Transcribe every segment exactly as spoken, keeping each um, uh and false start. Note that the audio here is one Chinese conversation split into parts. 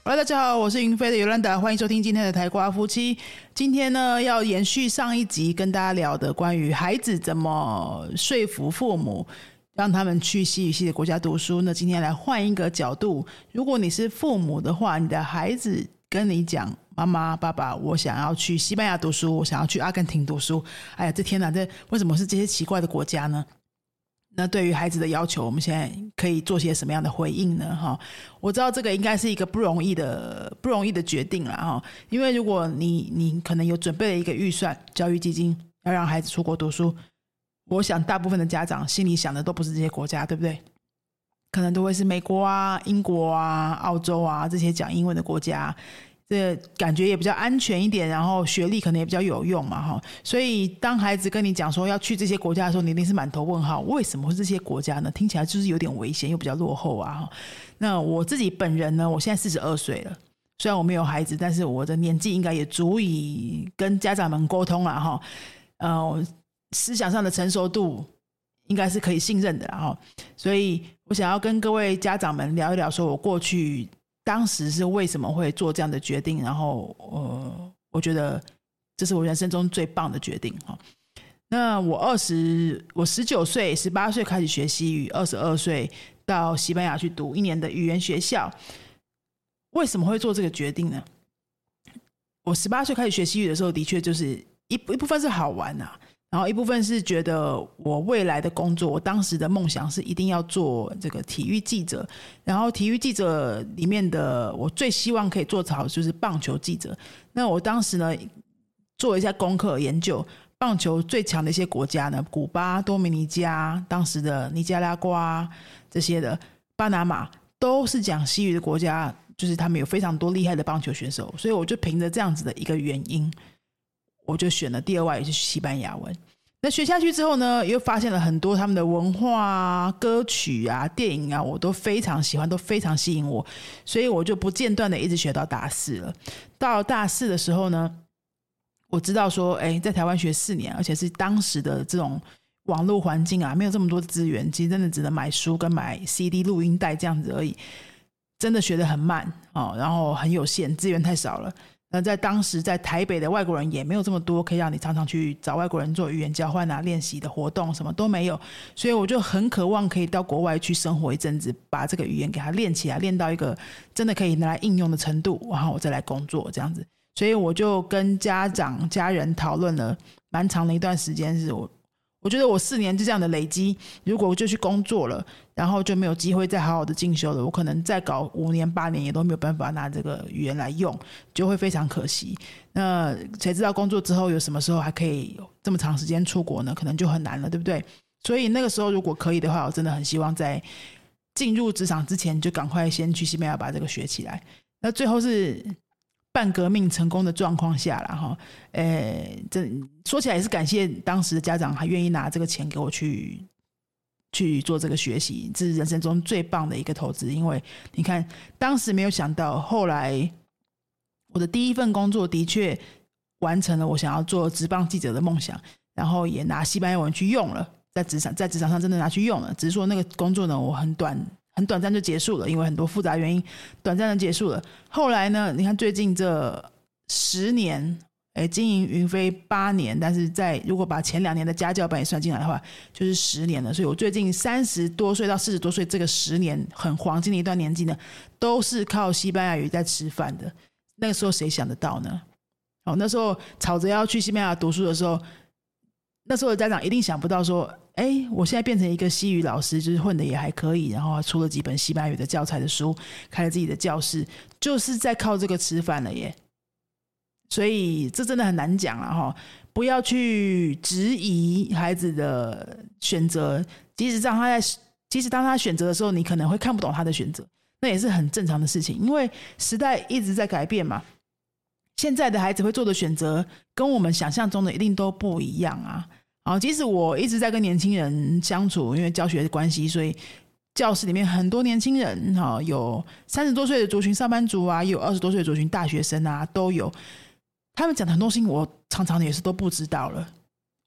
Hello， 大家好，我是云飞的尤兰达，欢迎收听今天的台瓜夫妻。今天呢，要延续上一集跟大家聊的关于孩子怎么说服父母让他们去西语系的国家读书。那今天来换一个角度，如果你是父母的话，你的孩子跟你讲，妈妈爸爸，我想要去西班牙读书，我想要去阿根廷读书。哎呀，这天哪，这为什么是这些奇怪的国家呢？那对于孩子的要求，我们现在可以做些什么样的回应呢？哈，我知道这个应该是一个不容易的不容易的决定啦，哈，因为如果你你可能有准备了一个预算教育基金要让孩子出国读书，我想大部分的家长心里想的都不是这些国家，对不对？可能都会是美国啊、英国啊、澳洲啊这些讲英文的国家。这感觉也比较安全一点，然后学历可能也比较有用嘛，哈。所以当孩子跟你讲说要去这些国家的时候，你一定是满头问号，为什么是这些国家呢？听起来就是有点危险，又比较落后啊。那我自己本人呢，我现在四十二岁了，虽然我没有孩子，但是我的年纪应该也足以跟家长们沟通了哈。呃，思想上的成熟度应该是可以信任的啦哈。所以我想要跟各位家长们聊一聊，说我过去当时是为什么会做这样的决定，然后呃，我觉得这是我人生中最棒的决定。那我二十我十九岁十八岁开始学西语，二十二岁到西班牙去读一年的语言学校。为什么会做这个决定呢？我十八岁开始学西语的时候，的确就是一一部分是好玩啊，然后一部分是觉得我未来的工作，我当时的梦想是一定要做这个体育记者，然后体育记者里面的我最希望可以做好就是棒球记者。那我当时呢做一下功课研究，棒球最强的一些国家呢，古巴、多米尼加、当时的尼加拉瓜这些的，巴拿马都是讲西语的国家，就是他们有非常多厉害的棒球选手，所以我就凭着这样子的一个原因，我就选了第二外语是西班牙文。那学下去之后呢，又发现了很多他们的文化啊、歌曲啊、电影啊，我都非常喜欢，都非常吸引我，所以我就不间断的一直学到大四了。到了大四的时候呢，我知道说，哎，在台湾学四年，而且是当时的这种网络环境啊，没有这么多资源，其实真的只能买书跟买 C D 录音带这样子而已，真的学得很慢哦，然后很有限，资源太少了。那在当时在台北的外国人也没有这么多可以让你常常去找外国人做语言交换啊、练习的活动，什么都没有，所以我就很渴望可以到国外去生活一阵子，把这个语言给它练起来，练到一个真的可以拿来应用的程度，然后我再来工作这样子。所以我就跟家长家人讨论了蛮长的一段时间，是我我觉得我四年就这样的累积，如果我就去工作了，然后就没有机会再好好的进修了，我可能再搞五年八年也都没有办法拿这个语言来用，就会非常可惜。那谁知道工作之后有什么时候还可以这么长时间出国呢？可能就很难了，对不对？所以那个时候如果可以的话，我真的很希望在进入职场之前就赶快先去西班牙把这个学起来。那最后是半革命成功的状况下啦齁，呃，这说起来也是感谢当时的家长还愿意拿这个钱给我去去做这个学习，这是人生中最棒的一个投资。因为你看当时没有想到，后来我的第一份工作的确完成了我想要做职棒记者的梦想，然后也拿西班牙文去用了，在职场在职场上真的拿去用了，只是说那个工作呢我很短很短暂就结束了，因为很多复杂原因短暂的结束了。后来呢，你看最近这十年，诶，经营云飞八年，但是在如果把前两年的家教班也算进来的话，就是十年了。所以我最近三十多岁到四十多岁这个十年很黄金的一段年纪呢，都是靠西班牙语在吃饭的。那个时候谁想得到呢？哦，那时候吵着要去西班牙读书的时候，那时候的家长一定想不到说，哎，我现在变成一个西语老师，就是混的也还可以，然后出了几本西班牙语的教材的书，开了自己的教室，就是在靠这个吃饭了耶。所以这真的很难讲啦齁，不要去质疑孩子的选择，即使当他在即使当他选择的时候，你可能会看不懂他的选择，那也是很正常的事情，因为时代一直在改变嘛。现在的孩子会做的选择跟我们想象中的一定都不一样啊。好，即使我一直在跟年轻人相处，因为教学的关系，所以教室里面很多年轻人，有三十多岁的族群上班族啊，也有二十多岁的族群大学生啊，都有。他们讲的很多事情我常常也是都不知道了，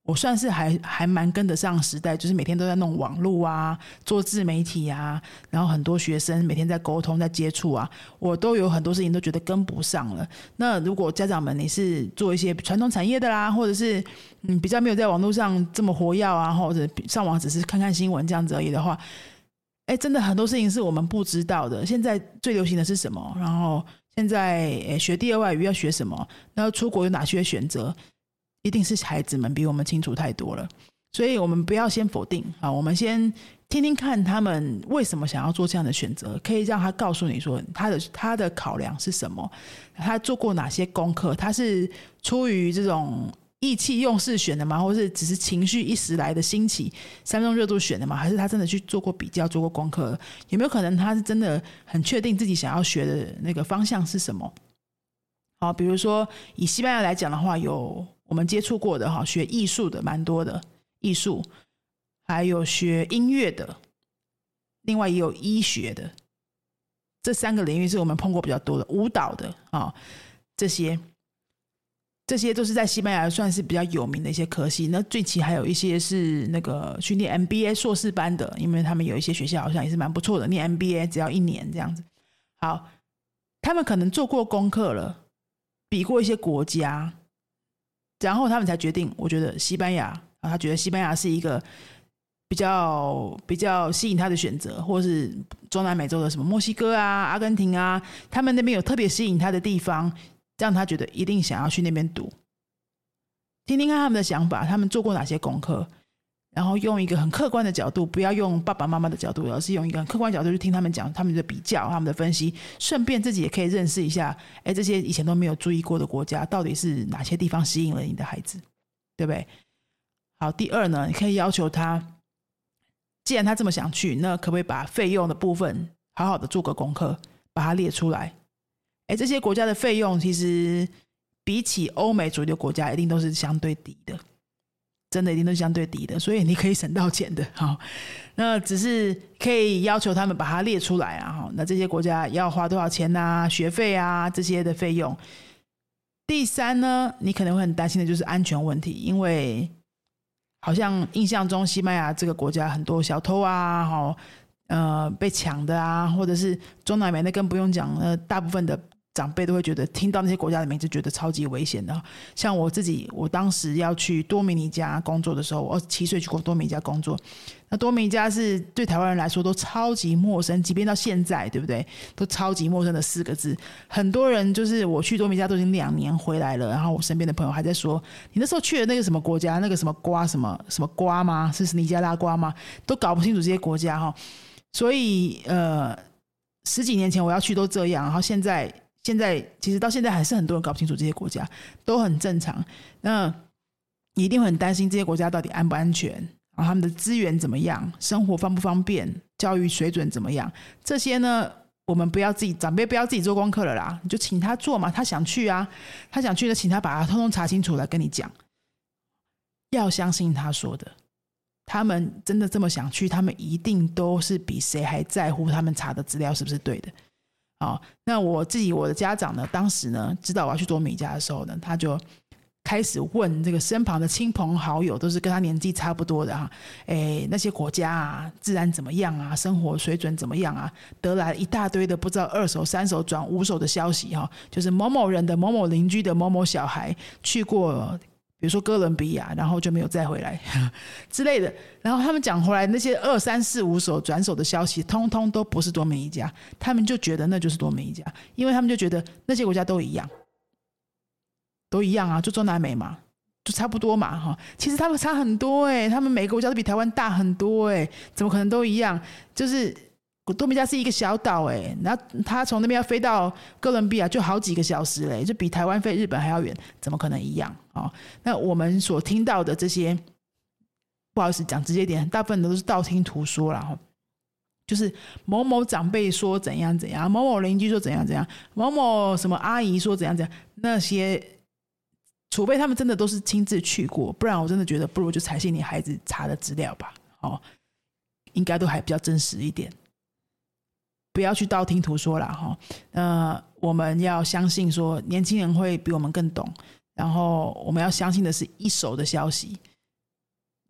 我算是还还蛮跟得上时代，就是每天都在弄网络啊，做自媒体啊，然后很多学生每天在沟通在接触啊，我都有很多事情都觉得跟不上了。那如果家长们你是做一些传统产业的啦，或者是嗯比较没有在网络上这么活跃啊，或者上网只是看看新闻这样子而已的话，哎，真的很多事情是我们不知道的。现在最流行的是什么？然后现在学第二外语要学什么？然后出国有哪些选择？一定是孩子们比我们清楚太多了，所以我们不要先否定啊，我们先听听看他们为什么想要做这样的选择，可以让他告诉你说他的他的考量是什么，他做过哪些功课，他是出于这种意气用事选的吗？或是只是情绪一时来的兴起三分钟热度选的吗？还是他真的去做过比较做过功课？有没有可能他是真的很确定自己想要学的那个方向是什么？好，比如说以西班牙来讲的话，有我们接触过的哈，学艺术的蛮多的，艺术，还有学音乐的，另外也有医学的，这三个领域是我们碰过比较多的，舞蹈的啊，这些这些都是在西班牙算是比较有名的一些科系。那最近还有一些是那个去念 M B A 硕士班的，因为他们有一些学校好像也是蛮不错的，念 M B A 只要一年这样子。好，他们可能做过功课了，比过一些国家，然后他们才决定，我觉得西班牙啊，他觉得西班牙是一个比较比较吸引他的选择，或是中南美洲的什么墨西哥啊、阿根廷啊，他们那边有特别吸引他的地方，让他觉得一定想要去那边读。听听看他们的想法，他们做过哪些功课，然后用一个很客观的角度，不要用爸爸妈妈的角度，而是用一个很客观的角度去听他们讲他们的比较，他们的分析，顺便自己也可以认识一下，哎，这些以前都没有注意过的国家到底是哪些地方吸引了你的孩子，对不对？好，第二呢，你可以要求他，既然他这么想去，那可不可以把费用的部分好好的做个功课，把它列出来？哎，这些国家的费用其实比起欧美主流国家一定都是相对低的，真的一定都是相对低的，所以你可以省到钱的。好，那只是可以要求他们把它列出来啊。那这些国家要花多少钱啊，学费啊这些的费用。第三呢，你可能会很担心的就是安全问题，因为好像印象中西班牙这个国家很多小偷啊，好呃被抢的啊，或者是中南美那更不用讲，呃大部分的长辈都会觉得听到那些国家的名字觉得超级危险的。像我自己，我当时要去多米尼加工作的时候，我七岁去过多米尼加工作，那多米尼加是对台湾人来说都超级陌生，即便到现在对不对，都超级陌生的四个字。很多人就是我去多米尼加都已经两年回来了，然后我身边的朋友还在说，你那时候去的那个什么国家，那个什么瓜什么什么瓜吗？是尼加拉瓜吗？都搞不清楚这些国家哈。所以呃十几年前我要去都这样，然后现在现在其实到现在还是很多人搞不清楚这些国家，都很正常。那你一定会很担心这些国家到底安不安全，然后他们的资源怎么样，生活方不方便，教育水准怎么样，这些呢我们不要自己，长辈不要自己做功课了啦，你就请他做嘛，他想去啊，他想去的请他把它通通查清楚来跟你讲，要相信他说的，他们真的这么想去，他们一定都是比谁还在乎他们查的资料是不是对的。好，那我自己我的家长呢，当时呢知道我要去多米加的时候呢，他就开始问这个身旁的亲朋好友，都是跟他年纪差不多的哈，诶，那些国家啊，自然怎么样啊，生活水准怎么样啊，得来一大堆的不知道二手、三手转五手的消息哈，就是某某人的某某邻居的某某小孩去过，比如说哥伦比亚，然后就没有再回来之类的。然后他们讲回来那些二三四五手转手的消息，通通都不是多米尼加，他们就觉得那就是多米尼加，因为他们就觉得那些国家都一样。都一样啊，就中南美嘛，就差不多嘛哈。其实他们差很多哎、欸，他们每个国家都比台湾大很多哎、欸，怎么可能都一样？就是多米加是一个小岛哎、欸，然后他从那边要飞到哥伦比亚就好几个小时嘞、欸，就比台湾飞日本还要远，怎么可能一样啊？那我们所听到的这些，不好意思讲直接一点，大部分都是道听途说啦哈。就是某某长辈说怎样怎样，某某邻居说怎样怎样，某某什么阿姨说怎样怎样，那些。除非他们真的都是亲自去过，不然我真的觉得不如就采信你孩子查的资料吧，哦，应该都还比较真实一点，不要去道听途说啦哈。呃，我们要相信说年轻人会比我们更懂，然后我们要相信的是一手的消息，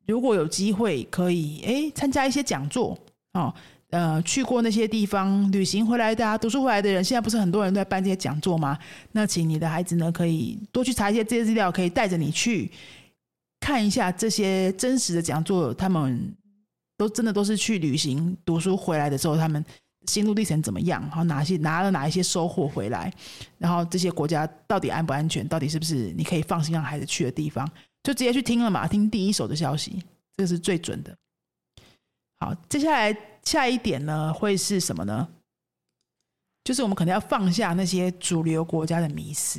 如果有机会可以诶参加一些讲座哦，呃，去过那些地方旅行回来的啊，读书回来的人，现在不是很多人都在办这些讲座吗？那请你的孩子呢，可以多去查一些这些资料，可以带着你去看一下这些真实的讲座，他们都真的都是去旅行读书回来的时候，他们心路历程怎么样，然后哪些拿了哪一些收获回来，然后这些国家到底安不安全，到底是不是你可以放心让孩子去的地方，就直接去听了嘛，听第一手的消息，这个是最准的。好，接下来下一点呢会是什么呢？就是我们可能要放下那些主流国家的迷思，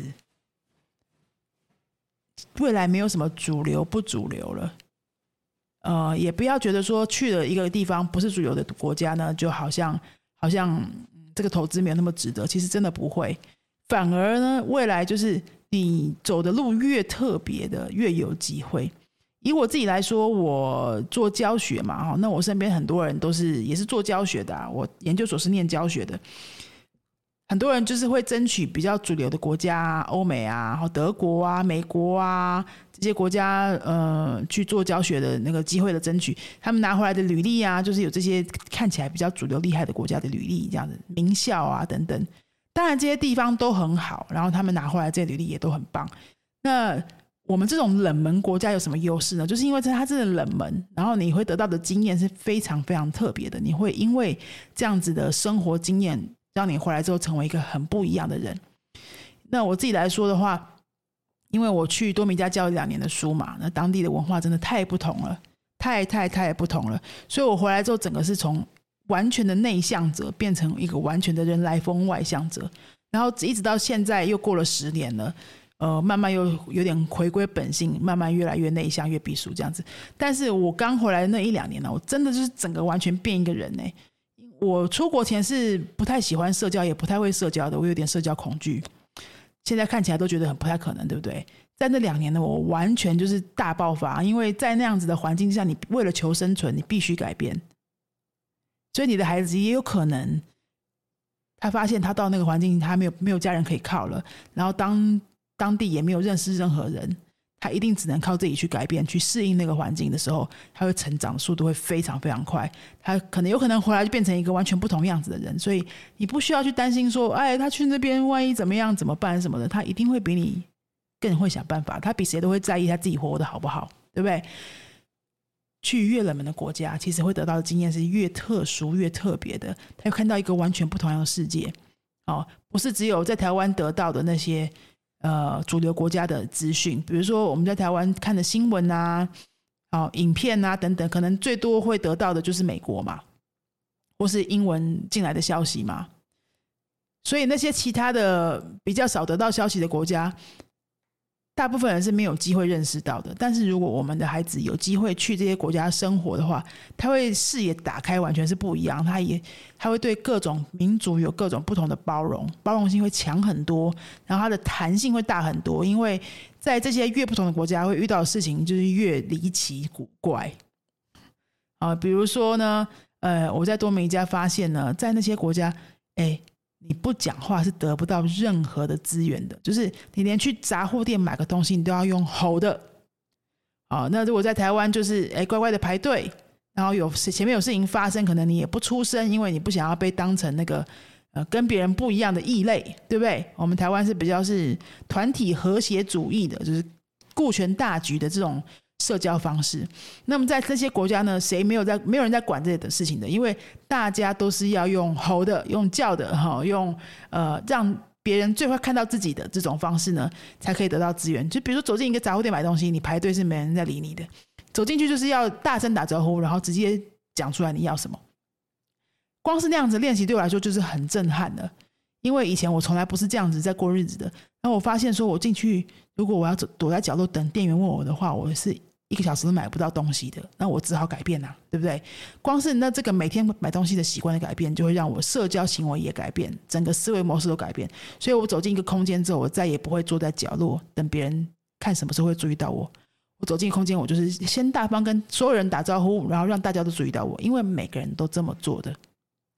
未来没有什么主流不主流了，呃，也不要觉得说去了一个地方不是主流的国家呢，就好像好像这个投资没有那么值得，其实真的不会，反而呢，未来就是你走的路越特别的，越有机会。以我自己来说，我做教学嘛，那我身边很多人都是也是做教学的啊，我研究所是念教学的，很多人就是会争取比较主流的国家啊，欧美啊，德国啊，美国啊这些国家呃去做教学的那个机会的争取，他们拿回来的履历啊，就是有这些看起来比较主流厉害的国家的履历，这样子名校啊等等，当然这些地方都很好，然后他们拿回来这些履历也都很棒。那我们这种冷门国家有什么优势呢？就是因为它真的冷门，然后你会得到的经验是非常非常特别的，你会因为这样子的生活经验让你回来之后成为一个很不一样的人。那我自己来说的话，因为我去多米加教了两年的书嘛，那当地的文化真的太不同了，太太太不同了，所以我回来之后整个是从完全的内向者变成一个完全的人来疯外向者，然后一直到现在又过了十年了，呃，慢慢又有点回归本性，慢慢越来越内向，越避暑这样子。但是我刚回来的那一两年呢，我真的就是整个完全变一个人呢、欸。我出国前是不太喜欢社交，也不太会社交的，我有点社交恐惧。现在看起来都觉得很不太可能，对不对？在那两年呢，我完全就是大爆发，因为在那样子的环境下，你为了求生存，你必须改变。所以你的孩子也有可能，他发现他到那个环境，他没有没有家人可以靠了，然后当当地也没有认识任何人，他一定只能靠自己去改变，去适应那个环境的时候，他会成长的速度会非常非常快，他可能有可能回来就变成一个完全不同样子的人。所以你不需要去担心说，哎，他去那边万一怎么样怎么办什么的，他一定会比你更会想办法，他比谁都会在意他自己活得好不好，对不对？去越冷门的国家，其实会得到的经验是越特殊越特别的，他会看到一个完全不同样的世界、哦、不是只有在台湾得到的那些呃，主流国家的资讯，比如说我们在台湾看的新闻啊、哦、影片啊等等，可能最多会得到的就是美国嘛，或是英文进来的消息嘛。所以那些其他的比较少得到消息的国家，大部分人是没有机会认识到的。但是如果我们的孩子有机会去这些国家生活的话，他会视野打开，完全是不一样。他也他会对各种民族有各种不同的包容，包容性会强很多，然后他的弹性会大很多。因为在这些越不同的国家会遇到的事情就是越离奇古怪、呃、比如说呢，呃，我在多米加发现呢，在那些国家，哎。你不讲话是得不到任何的资源的，就是你连去杂货店买个东西你都要用吼的、哦、那如果在台湾就是哎乖乖的排队，然后有前面有事情发生，可能你也不出声，因为你不想要被当成那个呃跟别人不一样的异类，对不对？我们台湾是比较是团体和谐主义的，就是顾全大局的这种社交方式。那么在这些国家呢，谁没有在没有人在管这些的事情的，因为大家都是要用吼的，用叫的，用呃让别人最快看到自己的这种方式呢，才可以得到资源。就比如说走进一个杂货店买东西，你排队是没人在理你的，走进去就是要大声打招呼，然后直接讲出来你要什么。光是那样子练习对我来说就是很震撼的，因为以前我从来不是这样子在过日子的。然后我发现说，我进去如果我要躲在角落等店员问我的话，我是一个小时都买不到东西的，那我只好改变啊，对不对？光是那这个每天买东西的习惯的改变，就会让我社交行为也改变，整个思维模式都改变。所以我走进一个空间之后，我再也不会坐在角落等别人看什么时候会注意到我。我走进空间，我就是先大方跟所有人打招呼，然后让大家都注意到我，因为每个人都这么做的。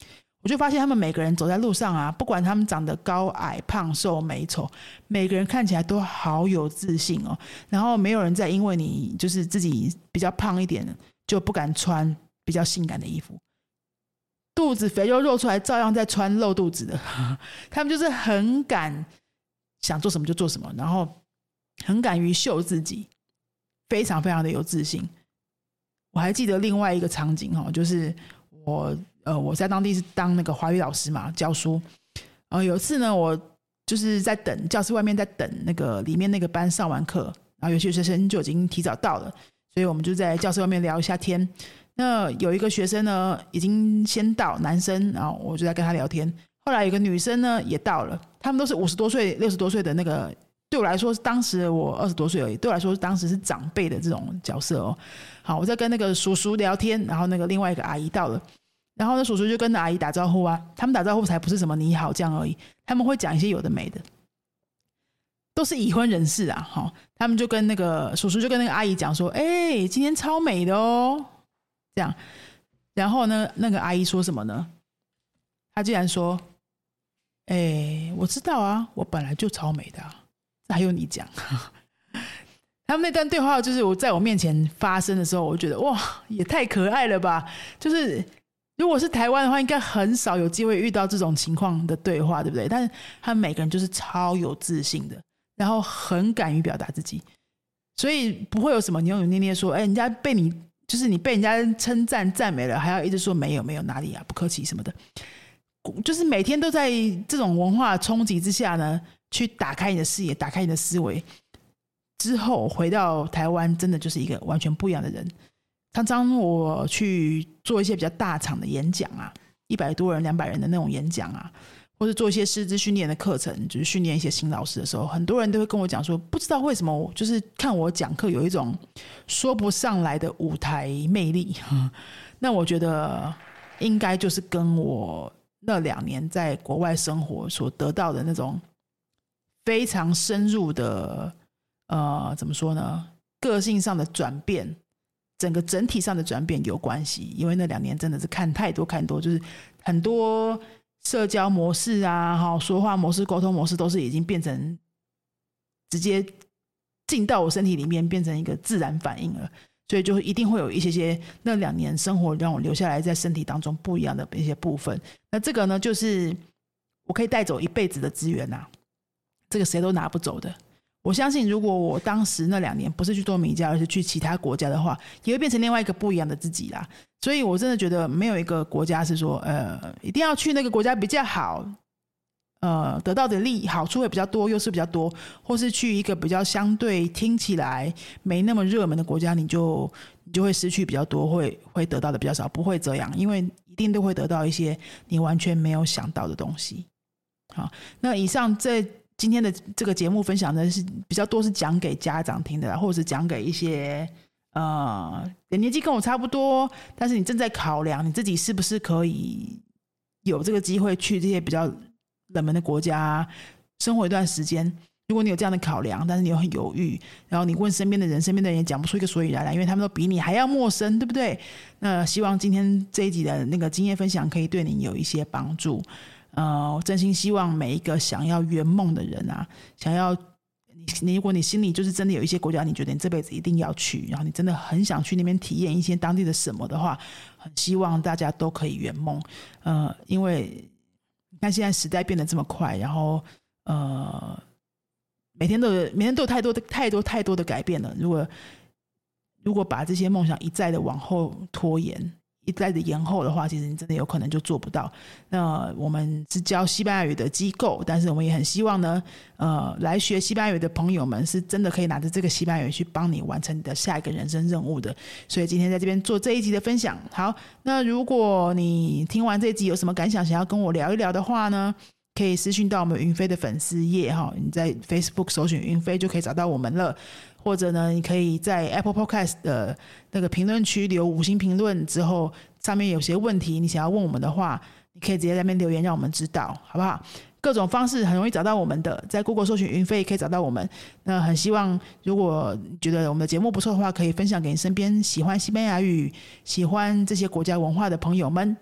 我就发现他们每个人走在路上啊，不管他们长得高矮胖瘦美丑，每个人看起来都好有自信哦。然后没有人再因为你就是自己比较胖一点就不敢穿比较性感的衣服，肚子肥肉肉出来照样在穿露肚子的他们就是很敢想做什么就做什么，然后很敢于秀自己，非常非常的有自信。我还记得另外一个场景哦，就是我呃我在当地是当那个华语老师嘛，教书。呃有一次呢，我就是在等教室外面，在等那个里面那个班上完课，然后有些学生就已经提早到了，所以我们就在教室外面聊一下天。那有一个学生呢已经先到，男生，然后我就在跟他聊天。后来有个女生呢也到了，他们都是五十多岁六十多岁的那个，对我来说当时我二十多岁而已，对我来说当时是长辈的这种角色哦。好，我在跟那个叔叔聊天，然后那个另外一个阿姨到了，然后呢叔叔就跟阿姨打招呼啊，他们打招呼才不是什么你好这样而已，他们会讲一些有的没的，都是已婚人士啊。好，他们就跟那个叔叔就跟那个阿姨讲说，哎，今天超美的哦，这样。然后呢那个阿姨说什么呢？她竟然说，哎，我知道啊，我本来就超美的啊，还有你讲他们那段对话就是我在我面前发生的时候，我觉得哇也太可爱了吧。就是如果是台湾的话，应该很少有机会遇到这种情况的对话，对不对？但是他们每个人就是超有自信的，然后很敢于表达自己，所以不会有什么扭扭捏捏说，哎，人家被你就是你被人家称赞赞美了，还要一直说没有没有哪里啊，不客气什么的。就是每天都在这种文化冲击之下呢，去打开你的视野，打开你的思维，之后回到台湾真的就是一个完全不一样的人。常常我去做一些比较大场的演讲啊，一百多人两百人的那种演讲啊，或者做一些师资训练的课程，就是训练一些新老师的时候，很多人都会跟我讲说，不知道为什么就是看我讲课有一种说不上来的舞台魅力那我觉得应该就是跟我那两年在国外生活所得到的那种非常深入的呃，怎么说呢，个性上的转变，整个整体上的转变有关系。因为那两年真的是看太多看多，就是很多社交模式啊，说话模式沟通模式都是已经变成直接进到我身体里面，变成一个自然反应了。所以就一定会有一些些那两年生活让我留下来在身体当中不一样的一些部分。那这个呢，就是我可以带走一辈子的资源啊，这个谁都拿不走的。我相信如果我当时那两年不是去多米加，而是去其他国家的话，也会变成另外一个不一样的自己啦。所以我真的觉得没有一个国家是说呃一定要去那个国家比较好，呃，得到的利好处会比较多，优势比较多，或是去一个比较相对听起来没那么热门的国家，你就你就会失去比较多，会会得到的比较少。不会这样，因为一定都会得到一些你完全没有想到的东西。好，那以上这今天的这个节目分享的是比较多是讲给家长听的啦，或者是讲给一些呃年纪跟我差不多，但是你正在考量你自己是不是可以有这个机会去这些比较冷门的国家生活一段时间。如果你有这样的考量，但是你又很犹豫，然后你问身边的人，身边的人也讲不出一个所以然来，因为他们都比你还要陌生，对不对？那希望今天这一集的那个经验分享可以对你有一些帮助。呃，我真心希望每一个想要圆梦的人啊，想要你如果你心里就是真的有一些国家你觉得你这辈子一定要去，然后你真的很想去那边体验一些当地的什么的话，很希望大家都可以圆梦。呃，因为你看现在时代变得这么快，然后呃，每天都有每天都有太多的太多太多的改变了。如果如果把这些梦想一再的往后拖延，一再的延后的话，其实你真的有可能就做不到。那我们是教西班牙语的机构，但是我们也很希望呢，呃，来学西班牙语的朋友们是真的可以拿着这个西班牙语去帮你完成你的下一个人生任务的。所以今天在这边做这一集的分享。好，那如果你听完这一集有什么感想，想要跟我聊一聊的话呢，可以私讯到我们云飞的粉丝页，你在 Facebook 搜寻云飞就可以找到我们了。或者呢，你可以在 Apple Podcast 的那个评论区留五星评论，之后上面有些问题你想要问我们的话，你可以直接在那边留言让我们知道，好不好？各种方式很容易找到我们的，在 Google 搜寻云飞也可以找到我们。那很希望如果觉得我们的节目不错的话，可以分享给你身边喜欢西班牙语、喜欢这些国家文化的朋友们。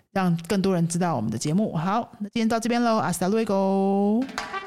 让更多人知道我们的节目。好，那今天到这边咯， Hasta luego。